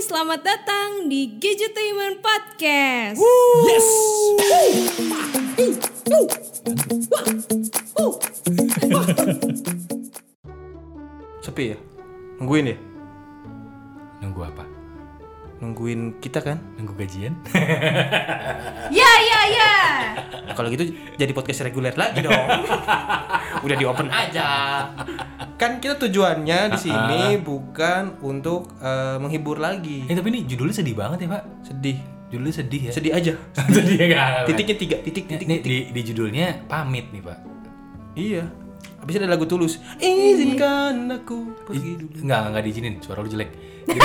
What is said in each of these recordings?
selamat datang di Gadgetainment Podcast. Yes. Sepi ya? Nungguin ya? Nunggu apa? Nungguin kita kan? Nunggu gajian? Ya. Nah, kalau gitu jadi podcast reguler lagi dong. Udah di open aja. Kan kita tujuannya di sini bukan untuk menghibur lagi. Tapi ini judulnya sedih banget ya Pak. Sedih. Judulnya sedih ya. Sedih aja. Sedih ya kan? Titiknya 3 titik. Nih, di judulnya pamit nih Pak. Iya. Habis ada lagu Tulus. Izinkan aku pergi dulu. Enggak diizinin, suara lu jelek. Jadi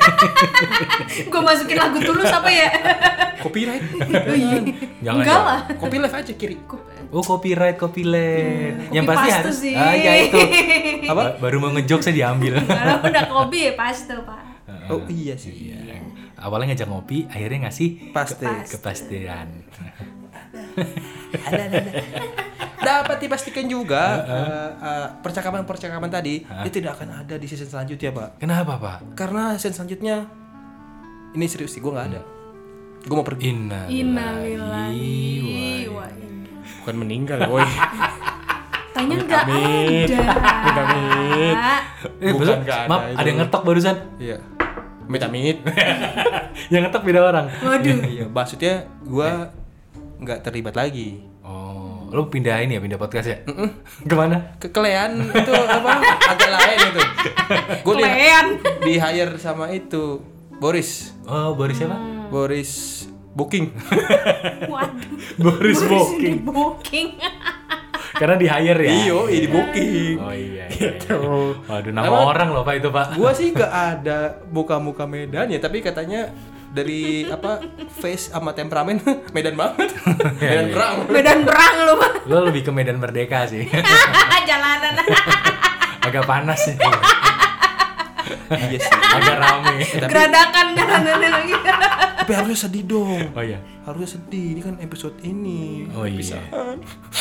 Gue masukin lagu Tulus apa ya? Copyright. Oh iya. Jangan Enggak dong. lah. Copy live aja kiri. Oh copyright. Yang Copy pasti paste harus. sih. Ya itu. Apa? Baru mau ngejok saya diambil. Kalau udah kopi ya paste Pak. Oh iya sih. Iya. Awalnya ngajak ngopi, akhirnya ngasih Pasti. kepastian. Ada. Dapat dipastikan juga percakapan tadi itu tidak akan ada di season selanjutnya, Pak. Kenapa Pak? Karena season selanjutnya ini serius sih, gue nggak ada. Gue mau pergi. Innalillahi wa inna. Bukan meninggal, boy. Tanya enggak ada. Amit. Bukan Besok, nggak ada maaf, itu. ada yang ngetok barusan. Iya. Amit. Yang ngetok beda orang. Waduh. Iya, maksudnya gue nggak terlibat lagi. Oh, lo pindah podcast ya? Kemana? Kekelean itu apa? Agak lain itu. Gue Kelean. di hire sama itu Boris. Oh, Boris siapa? Boris Booking. Waduh. Boris Di Booking. booking. Karena di hire ya? Iyo, di booking. Oh iya. Gitu. Waduh, nama Emang- orang loh Pak itu Pak. Gua sih gak ada muka-muka Medan ya, tapi katanya dari apa face sama temperamen Medan banget. Medan perang. Medan perang lu Pak. Lo lebih ke Medan Merdeka sih. Jalanan. Agak panas sih. Iya sih. Agak rame. Geradakan jalanan lagi. Tapi harusnya sedih dong. Oh iya. Harusnya sedih. Ini kan episode ini. Oh iya. Perpisahan.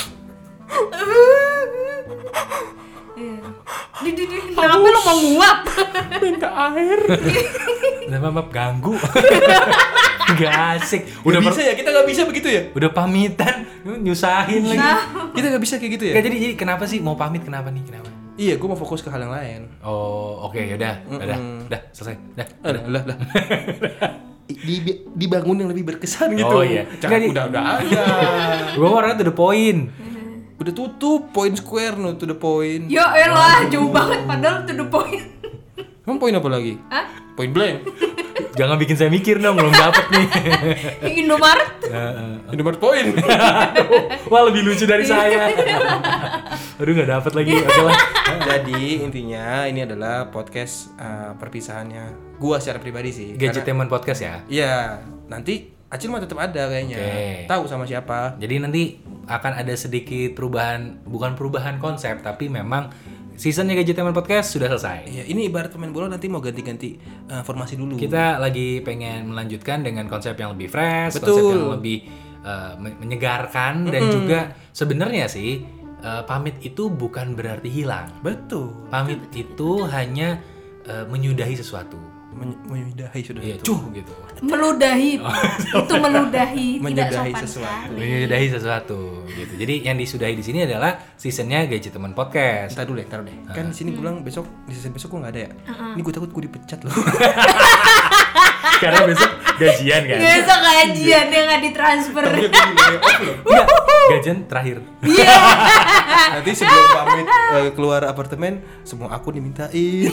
Kenapa lu mau nguap? Minta air. Maaf ganggu. Gak asik. Udah bisa ya? Kita gak bisa begitu ya? Udah pamitan, nyusahin lagi. Kita gak bisa kayak gitu ya? Gak, jadi kenapa sih mau pamit kenapa nih? Kenapa? Iya, gue mau fokus ke hal yang lain. Oh, oke, yaudah. Udah, selesai. Udah. Lah. Dibangun yang lebih berkesan gitu. Oh, iya. Jangan udah aja. Gue orangnya to the point. Udah tutup point square no to the point. Ya elah, jauh banget padahal to the point. Emang poin apa lagi? Hah? Point blank. Jangan bikin saya mikir dong, belum dapet nih. Indomaret. Indomaret poin. Wah, lebih lucu dari saya. Aduh, nggak dapet lagi. Oke lah. Jadi intinya ini adalah podcast perpisahannya. Gua secara pribadi sih. Gadgetainment Podcast ya. Iya, nanti Acil mah tetap ada kayaknya. Oke. Tahu sama siapa? Jadi nanti akan ada sedikit perubahan, bukan perubahan konsep, tapi memang seasonnya Gadgetainment Podcast sudah selesai. Iya, ini ibarat pemain bola nanti mau ganti-ganti formasi dulu. Kita lagi pengen melanjutkan dengan konsep yang lebih fresh, Betul. konsep yang lebih menyegarkan dan juga sebenarnya sih pamit itu bukan berarti hilang. Betul. Pamit itu hanya menyudahi sesuatu. Menyudahi sudah Iya, itu. cuh gitu. Meludahi. Itu meludahi, tidak Menyudahi sopan sesuatu. sekali. Menyudahi sesuatu gitu. Jadi yang disudahi di sini adalah seasonnya Gadgetainment Podcast. Taruh deh. Kan di sini gue bilang besok di season besok gue nggak ada ya. Ini gue takut gue dipecat loh. Karena besok gajian kan. Besok gajian dia nggak ditransfer. Tapi gue di layoff loh. Enggak, gajian terakhir. Iya. Nanti sebelum pamit keluar apartemen, semua akun dimintain.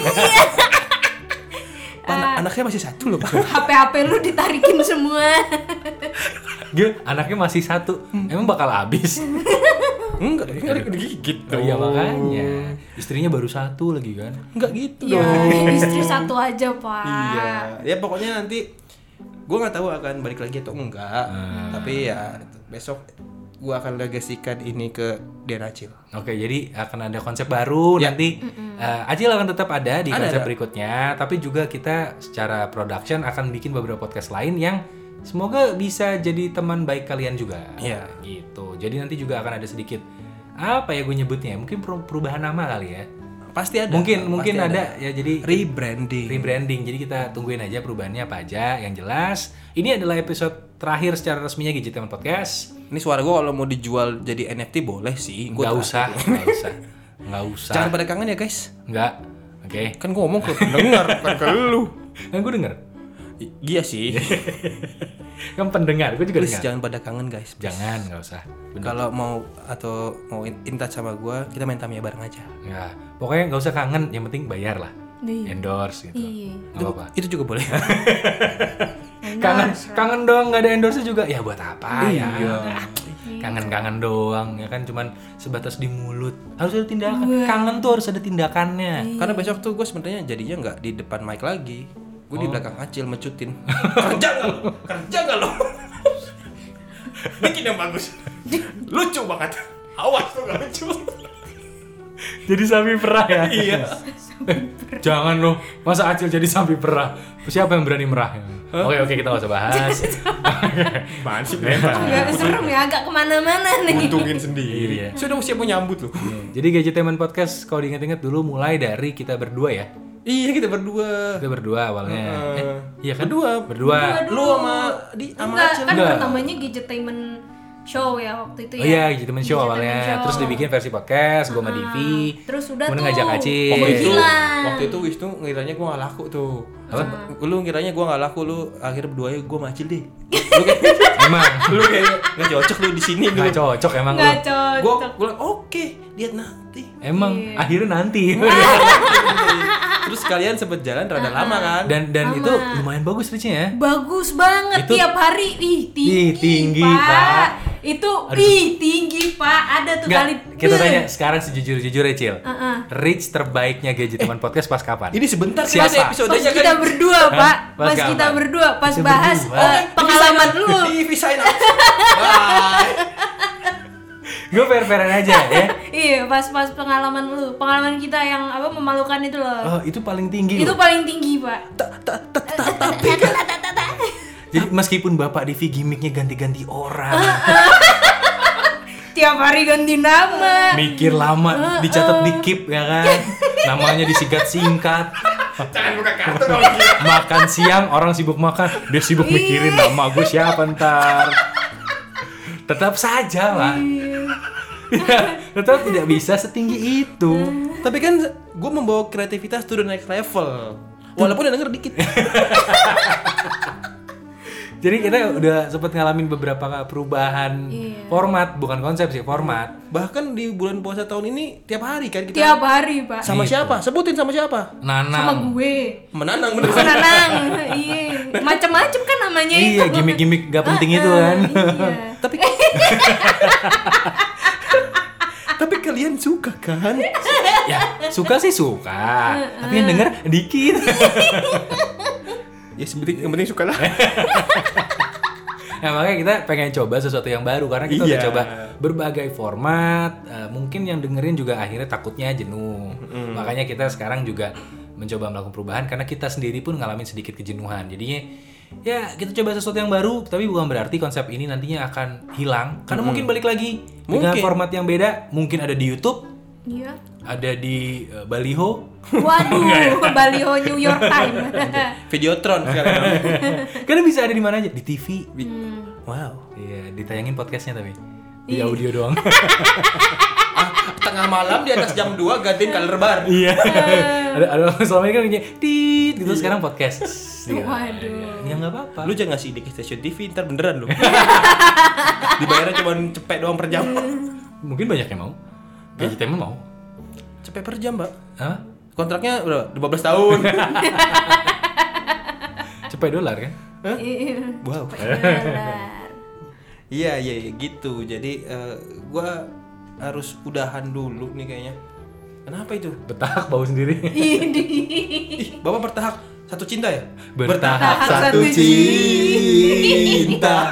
Anaknya masih satu loh, Pak. HP lu ditarikin semua. Dia anaknya masih satu. Emang bakal habis. Enggak, ini kan digigit. Oh iya makanya. Istrinya baru satu lagi kan. Enggak gitu Ya, dong. istri satu aja, Pak. Iya. Ya pokoknya nanti gue nggak tahu akan balik lagi atau enggak. Tapi ya besok gue akan legasikan ini ke Acil. Oke, jadi akan ada konsep baru Ya. nanti. Acil akan tetap ada di konsep Ada. berikutnya, tapi juga kita secara production akan bikin beberapa podcast lain yang semoga bisa jadi teman baik kalian juga. Iya. Gitu. Jadi nanti juga akan ada sedikit apa ya gue nyebutnya? Mungkin perubahan nama kali ya. Pasti ada. Mungkin Pasti ada ya, jadi rebranding. Jadi kita tungguin aja perubahannya apa aja. Yang jelas ini adalah episode terakhir secara resminya Gadgetainment Podcast. Ini suara gue kalau mau dijual jadi NFT boleh sih. Nggak usah. Jangan pada kangen ya guys. Nggak. Oke. Kan gue ngomong ke pendengar, bukan ke lu. Kan gue denger. Iya sih. Kan pendengar, gue juga Please dengar. jangan pada kangen guys. Jangan, nggak usah. Kalau mau in touch sama gue, kita main Tamiya bareng aja. Ya, pokoknya nggak usah kangen. Yang penting bayar lah. Iya. Endorse gitu. Iya. Nggak apa-apa. Itu juga boleh. Kangen doang nggak ada endorse juga. Ya buat apa ya? Iya. Kangen doang ya kan, cuman sebatas di mulut. Harus ada tindakan. Kangen tuh harus ada tindakannya. Karena besok tuh gue sebenarnya jadinya nggak di depan mic lagi. Gue di belakang Acil mecutin. Kerja nggak lo? Bikin yang bagus. Lucu banget. Awas tuh nggak lucu. Jadi sapi perah ya? Iya. Jangan loh, masa Acil jadi sapi perah? Siapa yang berani merah? Oke, kita nggak usah bahas. Apaan sih? Agak serem ya, agak kemana-mana nih. Untungin sendiri. Iya. Sudah siap mau nyambut loh. Jadi Gadgetainment Podcast kalau diingat-ingat dulu mulai dari kita berdua ya. Iya kita berdua. Kita berdua awalnya. Iya kan? Berdua. Lu sama Enggak, Acil. kan Enggak. pertamanya Gadgetainment Show ya waktu itu ya. Oh iya, Gadgetainment Show Gadgetainment awalnya. Show. Terus dibikin versi podcast, gue sama Divi. Terus udah Kemudian tuh. ngajak Acil. Waktu itu Wisnu ngiranya gue gak laku tuh. Lu ngiranya gue gak laku, lu akhirnya berdua ya gue macil deh. Lu kayak Emang lu kayak gak cocok lu di sini lu. nggak cocok emang lu. Nggak cocok. Gue bilang oke, lihat nanti. Emang akhirnya nanti. Terus kalian sempet jalan rada lama kan? Dan itu lumayan bagus reachnya ya. Bagus banget Itu- tiap hari. Tinggi, Pak. Itu tinggi, Pak. Ada tuh Nggak, kali. kita tanya sekarang sejujur-jujurnya Cil. Heeh. Reach terbaiknya Gadgetainment Podcast pas kapan? Ini sebentar Siapa? kan episodenya Pas kita kan. berdua, Pak. Pas Pas kapan? kita berdua, pas Kita bahas berdua. pengalaman lu. Di sign up. Bye. Gue fair-fairan aja ya. Iya, pas pengalaman lu. Pengalaman kita yang apa memalukan itu loh. Oh, itu paling tinggi Itu loh. paling tinggi, Pak. Jadi meskipun Bapak Divi gimmicknya ganti-ganti orang, Tiap hari ganti nama. mikir lama, dicatat di keep ya kan, namanya disingkat-singkat. Jangan buka kartu dong. Gila. Makan siang orang sibuk makan, dia sibuk mikirin nama gue siapa ntar. Tetap saja lah. Tetap tidak bisa setinggi itu. Tapi kan gue membawa kreativitas to the next level. Walaupun yang denger dikit. Jadi kita udah sempet ngalamin beberapa perubahan format, bukan konsep sih, format. Bahkan di bulan puasa tahun ini tiap hari kan kita. Tiap hari, Pak. Sama Gitu. siapa? Sebutin sama siapa? Sama Nanang. gue. Menanang bener. Senang. Iya. Macem-macem kan namanya itu. Iya, gimmick-gimmick gak penting itu kan. Iya. Tapi kalian suka kan? Ya, suka sih suka. Tapi yang denger dikit. Ya yang penting suka lah. Nah, makanya kita pengen coba sesuatu yang baru karena kita udah Iya. coba berbagai format. Mungkin yang dengerin juga akhirnya takutnya jenuh. Makanya kita sekarang juga mencoba melakukan perubahan karena kita sendiri pun ngalamin sedikit kejenuhan. Jadinya ya kita coba sesuatu yang baru, tapi bukan berarti konsep ini nantinya akan hilang karena mungkin balik lagi dengan Mungkin. format yang beda. Mungkin ada di YouTube, Iya. ada di Baliho. Waduh, baliho New York Times. Videotron sekarang. Karena bisa ada di mana aja, di TV. Wow. Iya, ditayangin podcastnya tapi di audio doang. Tengah malam di atas jam 2 gantiin color bar. Iya. ada selama ini kan kayak tit gitu, sekarang podcast. Gitu. Waduh. Ya nggak apa-apa. Lu jangan ngasih ide ke stasiun TV, ntar beneran lu. Dibayarnya cuma cepet doang per jam. Mungkin banyak yang mau. Gadgetainment mau. Cepet per jam, Mbak. Hah? Kontraknya udah 15 tahun. Cepet dolar kan? Iya. Wow. Benar. Iya gitu. Jadi gua harus udahan dulu nih kayaknya. Kenapa itu? Bertahap bau sendiri. Ih, Bapak bertahap satu cinta ya? Bertahap satu cinta.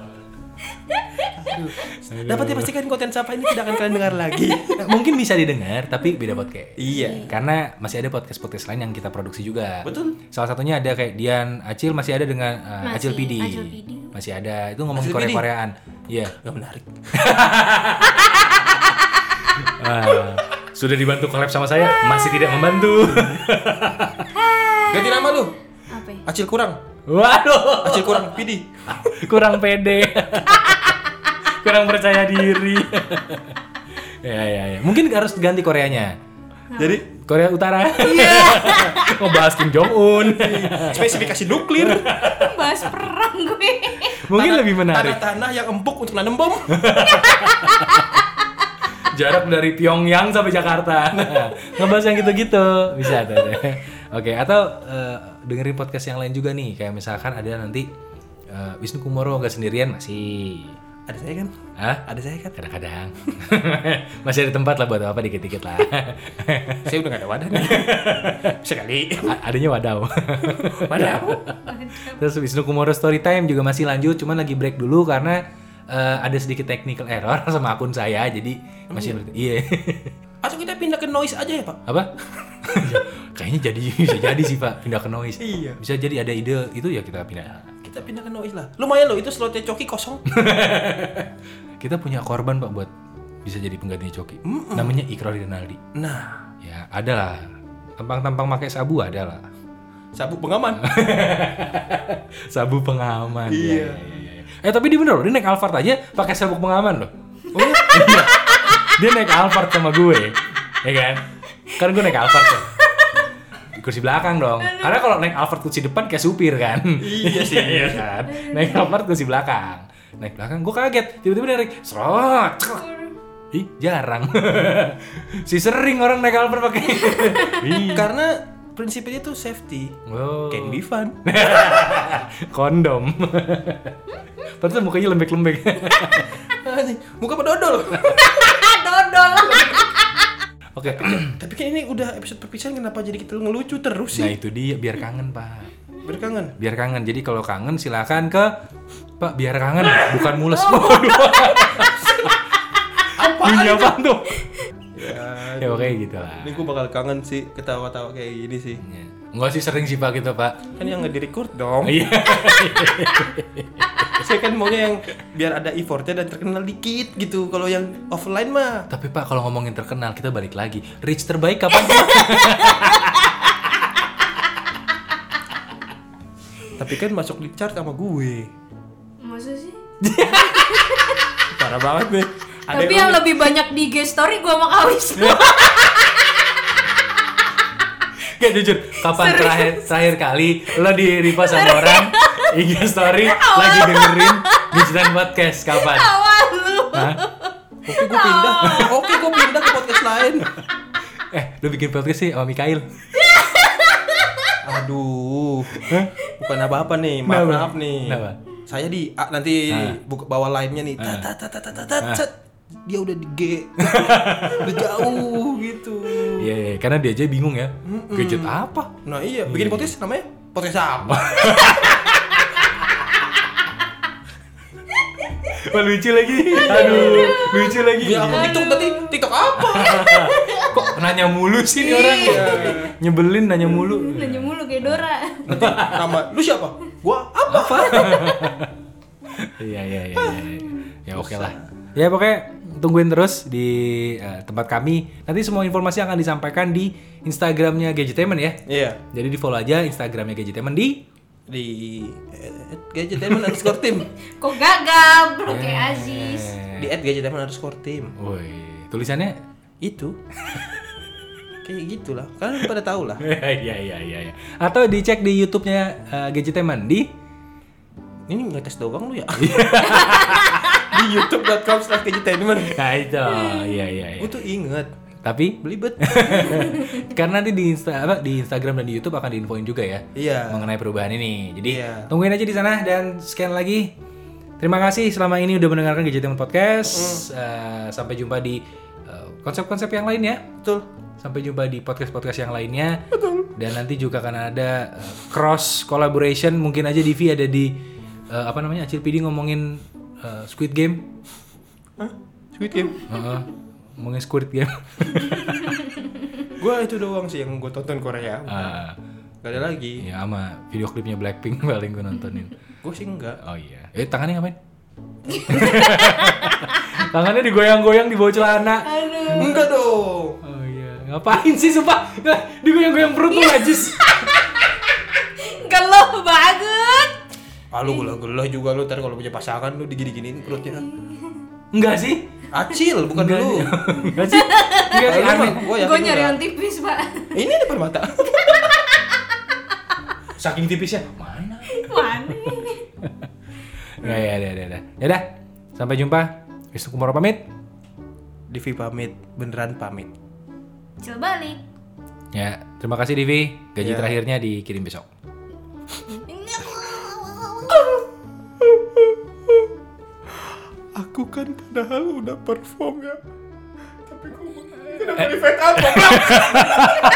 Dapat dipastikan konten Sapa ini tidak akan kalian dengar lagi. Mungkin bisa didengar tapi beda podcast. Iya. Karena masih ada podcast-podcast lain yang kita produksi juga. Betul. Salah satunya ada kayak Dian Acil, masih ada dengan Masih, Acil PD. Acil PD. Masih ada. Itu ngomongin Acil PD? Korea-Koreaan. Iya. Gak menarik. Sudah dibantu collab sama saya, masih tidak membantu. Ganti nama lu. Apa ya? Acil kurang. Waduh, Acil kurang PD. kurang pede. Kurang percaya diri. Ya. Mungkin harus ganti Koreanya. Jadi Korea Utara. Ngebahas Kim Jong Un. spesifikasi nuklir. Bahas perang gue. Mungkin lebih menarik. Tanah-tanah yang empuk untuk nanam bom. Jarak dari Pyongyang sampai Jakarta. Ngebahas yang gitu-gitu. Bisa tuh. Oke, atau dengerin podcast yang lain juga nih. Kayak misalkan ada nanti Wisnu Kumoro nggak sendirian masih. Ada saya kan? Hah? Ada saya kan? Kadang-kadang. Masih ada tempat lah buat apa dikit-dikit lah. Saya udah gak ada wadah nih. Sekali. Adanya wadaw. Wadah. Terus Wisnu Kumoro Storytime juga masih lanjut, cuman lagi break dulu karena ada sedikit technical error sama akun saya, jadi masih iya. Atau kita pindah ke noise aja ya Pak? Apa? Kayaknya bisa jadi sih Pak, pindah ke noise. Iya. Bisa jadi ada ide itu ya kita pindah. Kita pindah ke noise lah. Lumayan loh itu slotnya Coki kosong. Kita punya korban Pak buat bisa jadi penggantinya Coki. Namanya Ikrar Rinaldi. Nah, Ya ada lah. Tampang-tampang pakai sabu ada lah. sabuk pengaman. Sabu pengaman. Iya. Ya. Tapi dia bener loh, dia naik Alphard aja pakai sabuk pengaman loh. Oh iya. Dia naik Alphard sama gue. Ya kan? Kan gue naik Alphard tuh. Di kursi belakang dong. Karena kalau naik Alphard kursi depan kayak supir kan. Iya sih. Iya kan? Naik Alphard kursi belakang. Naik belakang gue kaget. Tiba-tiba dia naik serot. Ih, jarang. Si sering orang naik Alphard pakai. Karena prinsipnya itu safety. Oh. Can be fun. Kondom. Padahal mukanya lembek-lembek. Muka pedodol. Dodol. Oke. Tapi kan ini udah episode perpisahan, kenapa jadi kita ngelucu terus Nah sih? itu dia, biar kangen Pak. Berkangen. Biar kangen. Jadi kalau kangen silakan ke Pak, biar kangen, bukan mules. Bunyi apa tuh? Ya oke gitu lah. Ini gue bakal kangen sih ketawa-tawa kayak gini sih. Enggak sih, sering sih Pak gitu Pak. Kan yang nge-record dong. Iya. Saya kan maunya yang biar ada effortnya dan terkenal dikit gitu. Kalau yang offline mah. Tapi Pak kalau ngomongin terkenal kita balik lagi. Reach terbaik kapan Pak? Tapi kan masuk di chart sama gue. Masa sih? Parah banget nih. Tapi yang lebih banyak di IG story gue sama Kawis. Gak jujur, kapan terakhir kali lo di repost sama orang IG story lagi dengerin Digital Podcast kapan? Awal lu. Hah? Oke, gue pindah ke podcast lain. Lo bikin podcast sih sama Mikail. Aduh. Bukan apa-apa nih, maaf nih. Kenapa? Saya nanti buka bawah lainnya nih. Tat. Dia udah di G. Udah jauh gitu. Iya, karena dia aja bingung ya. Gadget apa? Nah iya, bikin podcast namanya podcast apa? Wah, lucu lagi. Aduh, lucu lagi. Ya aku TikTok apa? Kok nanya mulu sih nih orang? Nyebelin nanya mulu. Nanya mulu kayak Dora. Nanti nama lu siapa? Gua apa? Iya. Ya oke lah. Ya pokoknya tungguin terus di tempat kami. Nanti semua informasi akan disampaikan di Instagramnya Gadgetainment ya. Iya. Jadi di follow aja Instagramnya Gadgetainment di @gadgetainment_team. Kok gagal bro kayak Aziz. Di @gadgetainment_team. Woi, tulisannya Itu. Kayak gitulah. Kalian pada tahu lah. Iya. Atau dicek di YouTube-nya Gadgetainment di Ini ngetes doang lu ya. Di youtube.com/gadgetainment. Nah itu, iya. Gue tuh inget. Tapi Belibet. karena nanti di Instagram dan di YouTube akan diinfoin juga ya. Iya. Mengenai perubahan ini. Jadi Iya. tungguin aja di sana dan scan lagi. Terima kasih selama ini udah mendengarkan Gadgetainment Podcast. Sampai jumpa di konsep-konsep yang lain ya. Betul. Sampai jumpa di podcast-podcast yang lainnya. Betul. Dan nanti juga akan ada cross collaboration. Mungkin aja Divi ada di Acil PD ngomongin Squid Game. Hah? Squid Game? Ngomongin Squid Game. Gue itu doang sih yang gue tonton Korea. Gak ada lagi. Ya sama video klipnya Blackpink paling gue nontonin. Gue sih enggak. Oh iya. Tangannya ngapain? Tangannya digoyang-goyang di bawah celana. Aduh. Enggak dong. Oh Ngapain sih sumpah? Digoyang-goyang perut lu najis. Geluh banget. Lu gelah juga lu ntar kalau punya pasangan lu digini-giniin perutnya. Enggak sih? Acil bukan lu. Enggak sih. Enggak sih aneh. Gue nyari yang tipis, Pak. Ini depan mata. Saking tipisnya. Mana? Mana? Ya. Yaudah. Sampai jumpa. Wisnu Kumoro pamit. Divi pamit, beneran pamit. Cil balik. Ya, terima kasih Divi. Gaji Ya. terakhirnya dikirim besok. Aku kan padahal udah perform ya. Tapi kok kenapa di fade up?